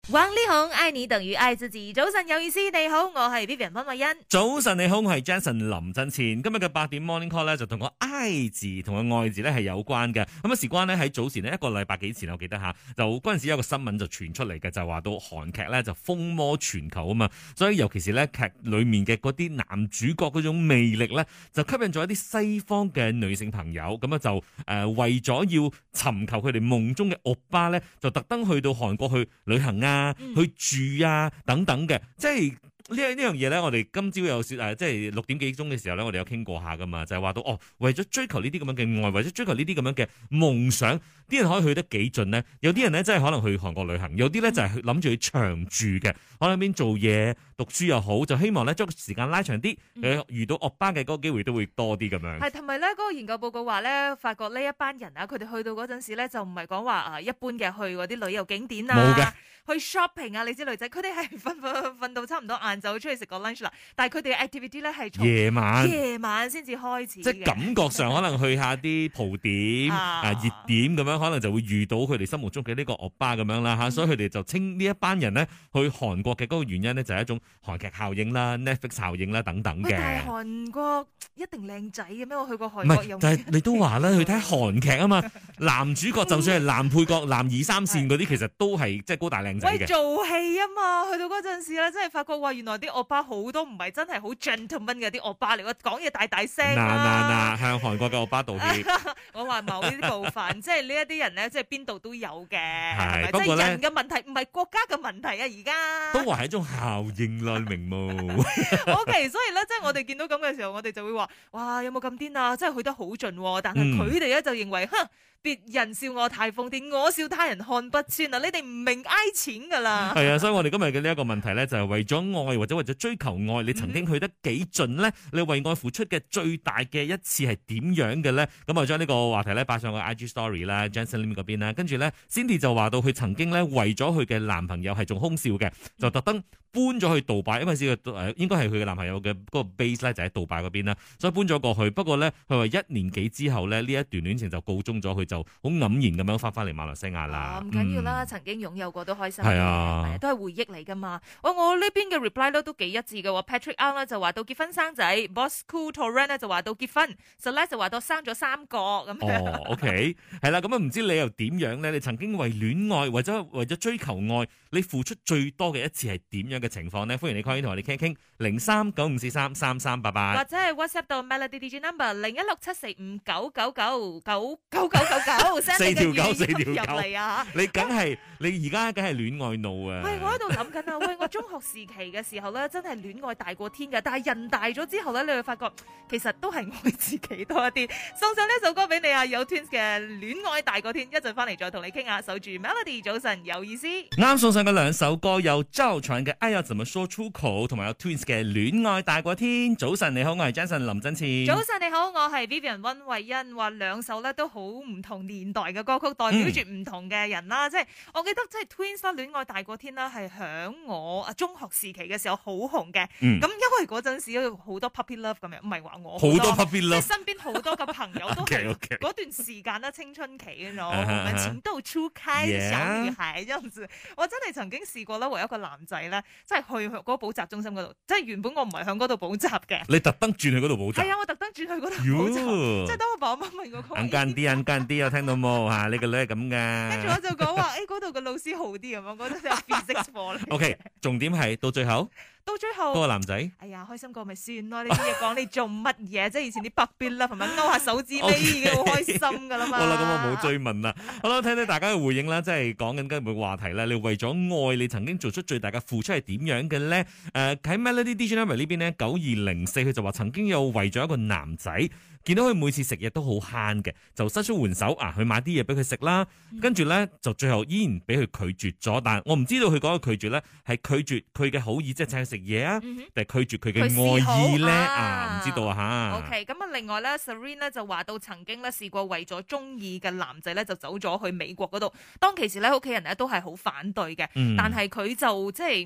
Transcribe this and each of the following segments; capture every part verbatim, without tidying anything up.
玩呢行愛你等於愛自己。早晨有意思，你好，我係 Vivian 溫慧欣。 早晨你好，我係 Jason 林振前。今日嘅八點 Morning Call 咧，就同個愛字同個愛字咧係有關嘅。咁啊，事關呢，喺早前呢，一個禮拜幾前，我記得吓，就嗰陣時有個新聞就傳出嚟嘅，就話到韓劇咧就風靡全球啊嘛。所以尤其是咧劇裏面嘅嗰啲男主角嗰種魅力咧，就吸引咗一啲西方嘅女性朋友。咁啊就誒、呃、為咗要尋求佢哋夢中嘅歐巴咧，就特登去到韓國去旅行啊。去住啊等等嘅，即係呢樣呢樣嘢咧，我哋今朝有說誒，即係六點幾鐘嘅時候咧，我哋有傾過下噶嘛，就係話到哦，為咗追求呢啲咁樣嘅愛，為咗追求呢啲咁樣嘅夢想，啲人可以去得幾盡呢？有啲人咧真係可能去韓國旅行，有啲咧就係諗住去長住嘅，可能邊做嘢、讀書又好，就希望咧將個時間拉長啲，嗯、遇到歐巴嘅嗰個機會都會多啲咁樣。 係同埋咧，嗰、那個研究報告話咧，發覺呢一班人啊，佢哋去到嗰陣時咧，就唔係講話啊一般嘅去嗰啲旅遊景點啊，冇嘅，去 shopping 啊，你知女仔，佢哋係瞓瞓瞓到差唔多晏晝出去食個 lunch 啦，但係佢哋嘅 activity 咧係從夜晚夜晚先至開始， 即係感覺上可能去下啲蒲點啊熱點咁樣，可能就會遇到佢哋心目中嘅呢個歐巴咁樣啦嚇，嗯、所以佢哋就稱呢一班人呢去韓國嘅嗰個原因呢，就係一種韓劇效應啦、Netflix 效應啦等等嘅。 但係韓國一定靚仔嘅咩？我去過韓國有， 但係你都話啦，去睇韓劇啊嘛，男主角就算係男配角、男二三線嗰啲，其實都係即係高大靚仔嘅。 喂，做戲啊嘛，去到嗰陣時咧，真係發覺話原來啲歐巴好多唔係真係好 gentleman 嘅啲歐巴嚟，我講嘢大大聲嗱嗱嗱，向韓國嘅歐巴道歉。 我話某啲部分，即係呢一啲人咧，即係邊度都有嘅。 係， 是不過咧， 人嘅問題唔係國家嘅問題啊，而家都話係一種效應啦，明冇 ？O K，所以咧，即係我哋見到咁嘅時候，我哋就會話：哇，有冇咁癲啊？真係去得好盡，但係佢哋咧就認為，哼。別人笑我太瘋癲，我笑他人看不穿啊！你哋唔明挨錢噶啦。係啊，所以我哋今日嘅呢一個問題咧，就係為咗愛或者為咗追求愛，你曾經去得幾盡咧？你為愛付出嘅最大嘅一次係點樣嘅咧？咁我將呢個話題咧擺上個 I G Story 啦 Jansen Lim 嗰邊啦，跟住咧 Cindy 就話到佢曾經咧為咗佢嘅男朋友係仲空少嘅，就特登搬咗去杜拜，因為呢個誒應該係佢嘅男朋友嘅嗰個 base 咧就喺杜拜嗰邊啦，所以搬咗過去。不過咧，佢話一年幾之後咧，呢一段戀情就告終咗，佢就好黯然咁樣翻翻嚟馬來西亞啦。 唔緊要啦，嗯、曾經擁有過都開心嘅， 係啊， 都係回憶嚟噶嘛。我我呢邊嘅 reply 咧都幾一致嘅喎。Patrick Ang 咧就話到結婚生仔，Bosco Torren 咧就話到結婚 Celeste 就話到生咗三個咁樣。 哦，OK，係啦，咁啊唔知你又點樣咧？你曾經為戀愛或者為咗追求愛，你付出最多嘅一次係點樣嘅情況呢？歡迎你 call 同我哋傾一傾，零三九五四三三三八八， 或者係 WhatsApp 到 Melody D J number 零一六七四五九九九九九九九九。 四條九，四條九入嚟啊！ 你梗係你而家梗係戀愛腦啊！ 喂，我喺度諗緊啊！喂，我中學時期嘅時候咧，真係戀愛大過天嘅。但係人大咗之後咧，你會發覺其實都係愛自己多一啲。送上呢一首歌俾你啊！有 Twins 嘅《戀愛大過天》，一陣翻嚟再同你傾下。守住 Melody，早晨有意思。 啱送上嘅兩首歌有周傳嘅《愛要怎麼說出口》，同埋有 Twins 嘅《戀愛大過天》。早晨你好，我係 Jason 林振前。 早晨你好，我係 Vivian 溫慧欣。話兩首咧都好唔同年代嘅歌曲，代表住唔同嘅人啦。嗯、即係我記得，即係 Twins 啦，《戀愛大過天》啦，係響我啊中學時期嘅時候好紅嘅。咁、嗯、因為嗰陣時有好多 puppy love 咁樣，唔係話我好多，多 puppy love，即係身邊好多嘅朋友都係嗰段時間啦，青春期嗰種，我們情竇初開嘅小女孩，這樣子。我真係曾經試過啦，為一個男仔咧，即係去嗰個補習中心嗰度，即係原本我唔係響嗰度補習嘅。你特登轉去嗰度補習？係啊，我特登轉去嗰度補習。即係當我爸爸媽媽問我， 硬間啲，硬間啲，有聽到冇嚇？你個女係咁噶。 跟住我就講話，誒嗰度嘅老師好啲咁樣，我覺得有 physics 課咧。 O K，重點係到最後。 到最後， 嗰個男仔， 哎呀，開心過咪算咯！呢啲嘢講你做乜嘢？即係以前啲 puppy love 係咪勾下手指尾已經好開心噶啦嘛？好啦，咁我冇追問啦。 好啦，聽聽大家嘅回應啦，即係講緊今日嘅話題啦。你為咗愛，你曾經做出最大嘅付出係點樣嘅咧？誒、呃，喺 Melody D J Number 呢邊咧，九二零四佢就話曾經有為咗一個男仔。見到佢每次食嘢都好慳嘅，就伸出援手啊，去買啲嘢俾佢食啦。跟住咧就最後依然俾佢拒絕咗。但係我唔知道佢嗰個拒絕咧係拒絕佢嘅好意，即係請佢食嘢啊，定係、嗯、拒絕佢嘅愛意咧啊？唔知道啊吓。 OK，咁啊，另外咧 Serene 咧就話到曾經咧試過為咗中意嘅男仔咧就走咗去美國嗰度。當其時咧屋企人咧都係好反對嘅，嗯、但係佢就即係。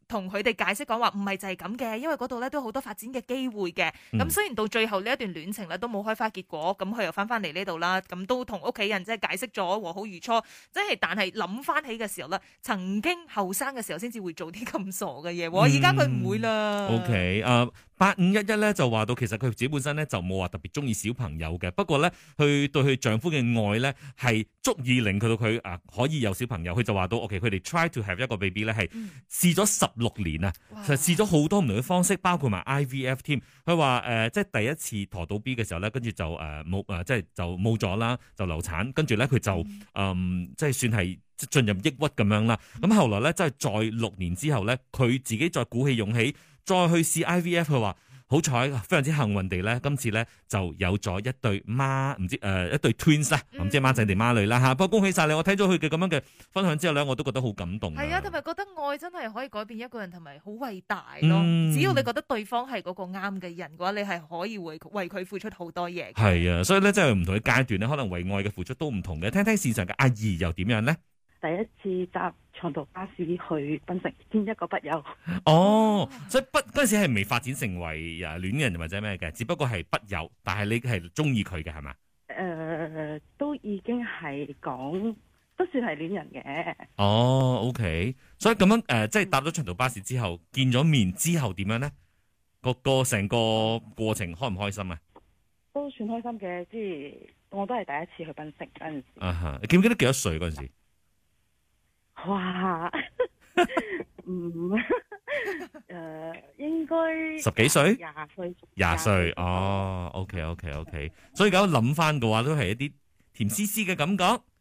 同佢哋解釋講話唔係就係咁嘅，因為嗰度咧都好多發展嘅機會嘅。咁、嗯、雖然到最後呢一段戀情咧都冇開花結果，咁佢又翻翻嚟呢度啦，咁都同屋企人即係解釋咗和好如初，即係但係諗翻起嘅時候咧，曾經後生嘅時候先至會做啲咁傻嘅嘢，而家佢唔會啦。 O K，誒八五一一咧就話到其實佢自己本身咧就冇話特別中意小朋友嘅，不過咧佢對佢丈夫嘅愛咧係足以令佢到佢啊可以有小朋友。佢就話到 O K， 佢哋 try to have 一個 baby 咧係試咗十六年啊，其實試咗好多唔同嘅方式，包括埋 I V F 添。佢話誒即係第一次陀到 B 嘅時候咧，跟住就誒冇誒即係就冇咗啦，就流產，跟住咧佢就誒、嗯、即係算係進入抑鬱咁樣啦。咁後來咧即係再六年之後咧，佢自己再鼓起勇氣再去試 I V F， 佢話好彩非常之幸運地咧，今次咧就有咗一對孖唔知誒、呃、一對 twins 啦，唔知係孖仔定孖女啦嚇。不過恭喜晒你，我睇咗佢嘅咁樣嘅分享之後咧，我都覺得好感動。 係啊，同埋覺得愛真係可以改變一個人，同埋好偉大咯。 嗯、 只要你覺得對方係嗰個啱嘅人嘅話，你係可以為為佢付出好多嘢。 係啊，所以咧即係唔同嘅階段咧，可能為愛嘅付出都唔同嘅。聽聽線上嘅阿姨又點樣咧？ 第一次搭長途巴士去檳城見一個筆友。 哦，所以筆嗰陣時係未發展成為誒戀人或者咩嘅，只不過係筆友，但係你係中意佢嘅係嘛？ 誒、呃，都已經係講，都算係戀人嘅。 哦，OK，所以咁樣誒、呃，即係搭咗長途巴士之後，見咗面之後點樣咧？個個成個過程開唔開心啊？ 都算開心嘅，即係我都係第一次去檳城嗰陣時。 啊哈，你記唔記得幾多歲嗰陣時？ 哇，嗯，誒、呃，應該十幾歲， 廿歲， 廿歲，哦，OK OK OK，所以而家諗翻嘅話，都係一啲甜絲絲嘅感覺。誒、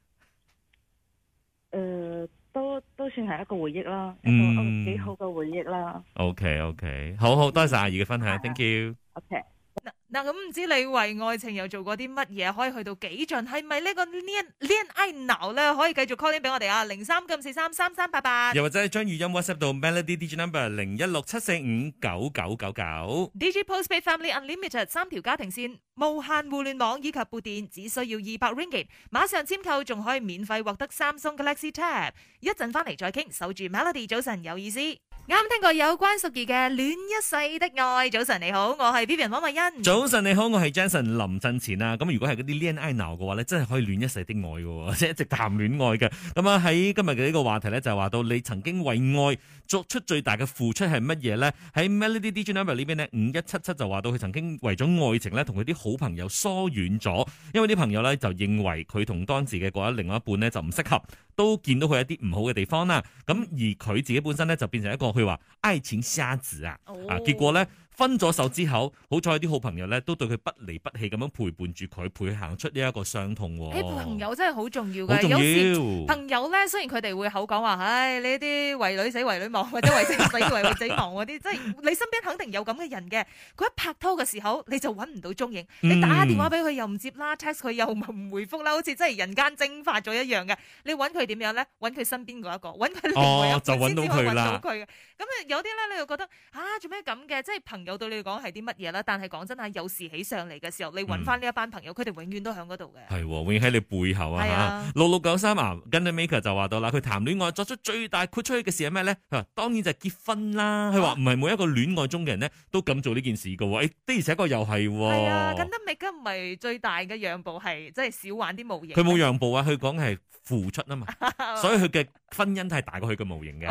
呃，都都算係一個回憶啦， 嗯、 一個幾好嘅回憶啦。 OK OK，好好，多謝阿姨嘅分享 ，Thank you。 OK。 嗱，咁唔知你為愛情又做過啲乜嘢，可以去到幾盡？係咪呢個戀戀愛腦咧？可以繼續 call in 俾我哋啊，零三九四三三三八八， 又或者係將語音 WhatsApp 到 Melody D J Number 零一六七四五九九九九。 D J Postpaid Family Unlimited 三條家庭線，無限互聯網以及撥電，只需要二百 Ringgit，馬上簽購仲可以免費獲得 Samsung Galaxy Tab。一陣翻嚟再傾，守住 Melody，早晨有意思。啱聽過有關淑儀嘅《戀一世的愛》。早晨你好，我係 Vivian 汪慧欣。 早晨你好，我係 Jason 林振前啊。咁如果係嗰啲戀愛腦嘅話咧，真係可以戀一世的愛嘅，即係一直談戀愛嘅。咁啊喺今日嘅呢個話題咧，就係話到你曾經為愛作出最大嘅付出係乜嘢咧？喺 Melody D J Number 呢邊呢，五一七七就話到佢曾經為咗愛情咧，同佢啲好朋友疏遠咗，因為啲朋友咧就認為佢同當時嘅嗰一另外一半咧就唔適合，都見到佢一啲唔好嘅地方啦。咁而佢自己本身咧就變成一個佢話愛情瞎子啊，啊結果咧。分咗手之後，好彩啲好朋友咧都對佢不離不棄咁樣陪伴住佢，陪佢行出呢一個傷痛。 誒，朋友真係好重要嘅， 好重要。 有時朋友咧，雖然佢哋會口講話，唉，呢啲為女死為女亡，或者為仔死為為仔亡嗰啲，即係你身邊肯定有咁嘅人嘅。佢一拍拖嘅時候，你就揾唔到蹤影，你打電話俾佢又唔接啦，text 佢又唔回覆啦，好似真係人間蒸發咗一樣嘅。你揾佢點樣咧？揾佢身邊嗰一個，揾佢另外一個先至可以揾到佢嘅。咁啊，有啲咧你又覺得啊，做咩咁嘅？即係朋友對你嚟講係啲乜嘢啦？但係講真係有事起上嚟嘅時候，你揾翻呢一班朋友，佢哋永遠都喺嗰度嘅。 係，永遠喺你背後啊！嚇，六六九三啊 Gunner Maker 就話到啦，佢談戀愛作出最大豁出去嘅事係咩咧？佢話當然就係結婚啦。佢話唔係每一個戀愛中嘅人咧都咁做呢件事嘅喎。誒，的而且確又係喎。 係啊，Gunner Maker唔係最大嘅讓步係即係少玩啲模型。 佢冇讓步啊，佢講係付出啊嘛，所以佢嘅婚姻係大過佢嘅模型嘅。 O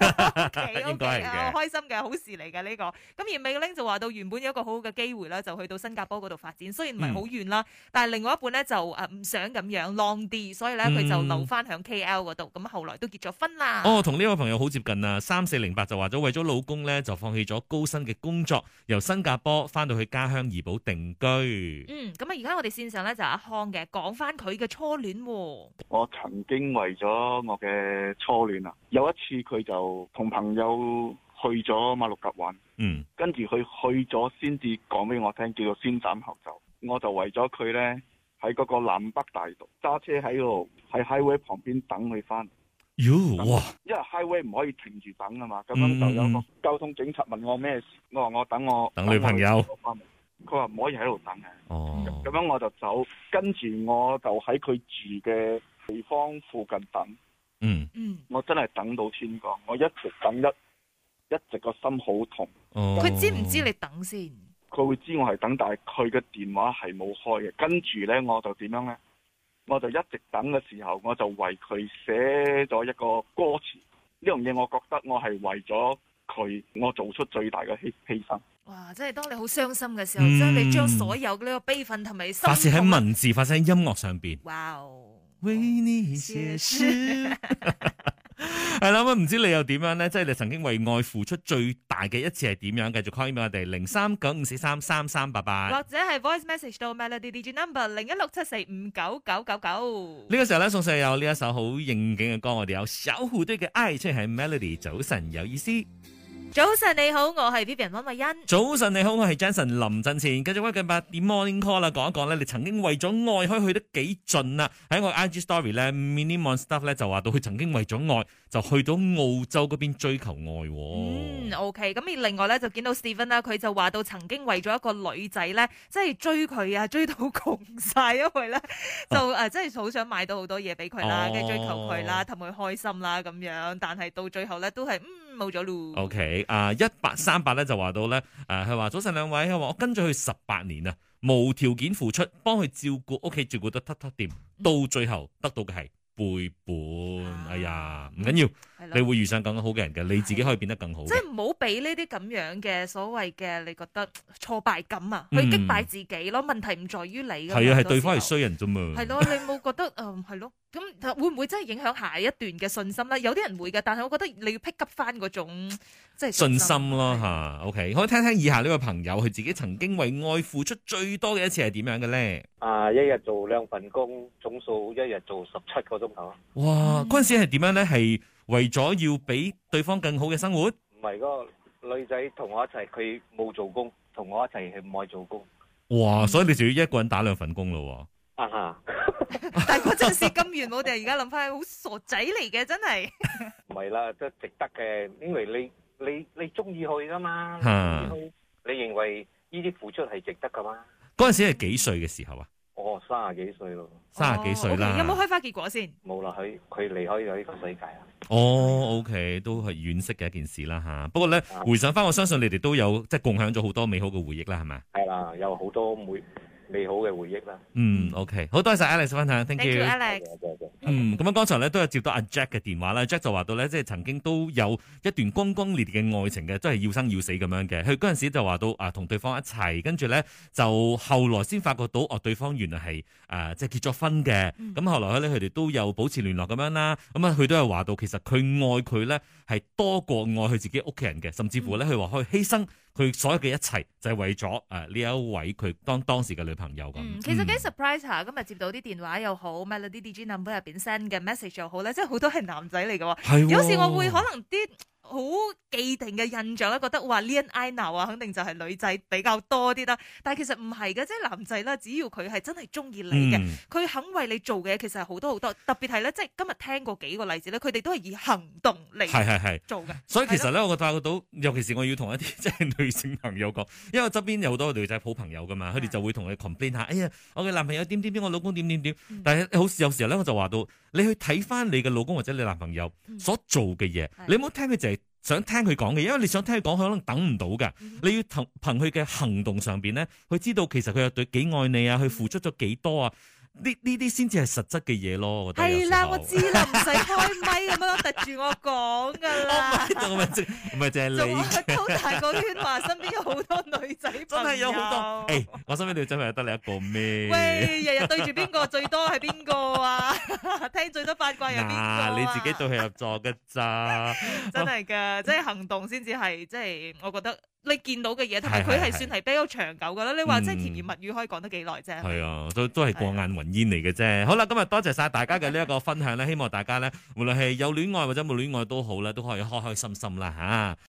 K， 應該係嘅， 開心嘅好事嚟嘅呢個。咁而美玲就話到原本有一個好好嘅機會啦，就去到新加坡嗰度發展，雖然唔係好遠啦，嗯、但係另外一半咧就誒唔想咁樣 long 啲，所以咧佢就留翻響 K L 嗰度，咁後來都結咗婚啦。 哦，同呢位朋友好接近啊，三四零八就話咗為咗老公咧就放棄咗高薪嘅工作，由新加坡翻到去家鄉怡保定居。 嗯，咁啊而家我哋線上咧就阿康嘅講翻佢嘅初戀。 我曾經為咗我嘅初戀啊，有一次佢就同朋友去咗馬六甲玩， 嗯， 跟住佢去咗先至講俾我聽，叫做先斬後奏。我就為咗佢呢，喺嗰個南北大道揸車喺度喺 highway 旁邊等佢翻。 喲哇！ 因為 highway 唔可以停住等啊嘛，咁樣就有個交通警察問我咩事，我話我等我等女朋友。 佢話唔可以喺度等嘅。 哦， 咁樣我就走，跟住我就喺佢住嘅地方附近等。 嗯嗯， 我真係等到天光，我一直等一一直個心好痛。 哦， 佢知唔知你等先？ 佢會知我係等，但係佢嘅電話係冇開嘅。跟住呢，我就點樣呢？我就一直等嘅時候，我就為佢寫咗一個歌詞。呢樣嘢，我覺得我係為咗佢，我做出最大嘅犧犧牲。 哇！即係當你好傷心嘅時候， 嗯即係你將所有呢個悲憤同埋心發泄喺痛文字，發泄喺音樂上邊。 哇哦！ 為你寫詩。係啦，咁唔知你又點樣呢？即係你曾經為愛付出最大嘅一次係點樣？繼續 call 俾我哋零三九五四三三三八八， 或者係 voice message 到 Melody D J number 零一六七四五九九九九。 呢個時候咧，送上有呢一首好應景嘅歌，我哋有小虎隊嘅 I，即係 Melody 早晨有意思。 早晨你好，我係 Vivian 溫慧欣。 早晨你好，我係 Jason 林振前。繼續翻緊八點 Morning Call 啦，講一講咧，你曾經為咗愛可以去得幾盡啊？喺我 I G Story 咧 ，Mini Monster 咧就話到佢曾經為咗愛就去到澳洲嗰邊追求愛。 嗯，OK。咁而另外咧就見到 Steven 啦，佢就話到曾經為咗一個女仔咧，即係追佢啊，追到窮晒，因為咧就誒，即係好想買到好多嘢俾佢啦，跟住追求佢啦，氹佢開心啦咁樣。但係到最後咧都係嗯冇咗咯。 OK。啊，一八三八咧就話到咧，誒佢話早晨兩位，佢話我跟咗佢十八年啊，無條件付出，幫佢照顧屋企，照顧得突突掂，到最後得到嘅係背叛。啊、哎呀，唔緊要，你會遇上更好嘅人嘅，你自己可以變得更好。 即係唔好俾呢啲咁樣嘅所謂嘅，你覺得挫敗感啊，去嗯擊敗自己咯。問題唔在於你㗎嘛， 係啊，係好多對方係時候衰人啫嘛。 係咯，你冇覺得誒係咯？咁會唔會真係影響下一段嘅信心咧？有啲人會嘅，但係我覺得你要 pick up 翻嗰種即係信心咯嚇。OK，可以聽聽以下呢位朋友佢自己曾經為愛付出最多嘅一次係點樣嘅咧？ 啊！一日做兩份工，總數一日做十七個鐘頭。 哇！嗰陣時係點樣咧？係為咗要俾對方更好嘅生活？ 唔係嗰個女仔同我一齊，佢冇做工，同我一齊係唔愛做工。 哇！所以你就要一個人打兩份工咯喎。 啊哈！ 但係嗰陣時金元，我哋而家諗翻，好傻仔嚟嘅，真係。 唔係啦，都值得嘅，因為你你你中意去噶嘛， 嚇你你認為呢啲付出係值得噶嘛？ 嗰陣時係幾歲嘅時候啊？ 哦，三十幾歲咯， 三十幾歲啦。 哦，OK，有冇開花結果先？ 冇啦，佢佢離開咗呢個世界啦。 哦，OK，都係惋惜嘅一件事啦嚇。不過咧， 啊回想翻，我相信你哋都有即係共享咗好多美好嘅回憶啦，係咪？ 係啦，有好多美美好嘅回憶啦。 嗯，OK，好多謝 Alex 分享 ，thank Thank you, you。 Alex。 嗯，咁樣剛才咧都有接到阿 Jack 嘅電話啦。Jack 就話到咧，即係曾經都有一段轟轟烈烈嘅愛情嘅，都係要生要死咁樣嘅。佢嗰陣時就話到啊，同對方一齊，跟住咧就後來先發覺到哦，對方原來係誒即係結咗婚嘅。咁、嗯、後來咧佢哋都有保持聯絡咁樣啦。咁啊佢都係話到，其實佢愛佢咧係多過愛佢自己屋企人嘅，甚至乎咧佢話可以犧牲佢所有嘅一切，就係、是、為咗誒呢一位佢當當時嘅女朋友咁、 嗯。其實幾 surprise 下，今日接到啲電話又好 ，Melody D J number 入邊 send 嘅 message 又好咧，即係好多係男仔嚟嘅喎。 係喎， 有時我會可能啲好既定嘅印象咧，覺得哇 Leon I now 啊，肯定就係女仔比較多啲啦。但係其實唔係嘅，即係男仔啦，只要佢係真係中意你嘅，佢、嗯、肯為你做嘅嘢，其實係好多好多。特別係咧，即係今日聽過幾個例子咧，佢哋都係以行動嚟係係係做嘅。 所以其實咧，我覺得到，尤其是我要同一啲即係女性朋友講，因為我側邊有好多女仔好朋友噶嘛，佢哋就會同你 complain 下，哎呀，我嘅男朋友點點點，我老公點點點。嗯、但係好有時候咧，我就話到，你去睇翻你嘅老公或者你男朋友所做嘅嘢，嗯、你唔好聽佢就係想聽佢講嘅，因為你想聽佢講，佢可能等唔到㗎。嗯、你要憑憑佢嘅行動上邊咧，去知道其實佢有對幾愛你啊，佢付出咗幾多啊。呢呢啲先至係實質嘅嘢咯，我覺得係啦， 我知啦，唔使開咪咁樣突住我講噶啦。 唔係淨唔係淨係你， 好大個圈話身邊有好多女仔， 真係有好多。誒、欸，我身邊女仔朋友得你一個咩？ 喂，日日對住邊個最多係邊個啊？聽最多八卦有邊個啊？ 你自己對號入座嘅咋？ 真係噶，即係行動先至係，即係我覺得。你見到嘅嘢，同埋佢係算係比較長久噶啦。你話即係甜言蜜語可以講得幾耐啫？係啊，都都係過眼雲煙嚟嘅啫。好啦，今日多謝晒大家嘅呢一個分享咧，希望大家咧，無論係有戀愛或者冇戀愛都好咧，都可以開開心心啦嚇。